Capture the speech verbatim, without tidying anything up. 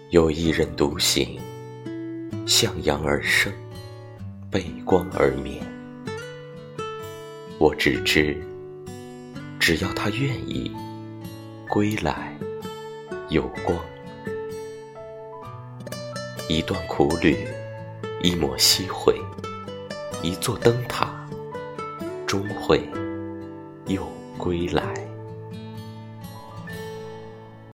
有一人独行，向阳而生，背光而眠。我只知，只要他愿意，归来有光。一段苦旅，一抹夕晖，一座灯塔，终会又归来。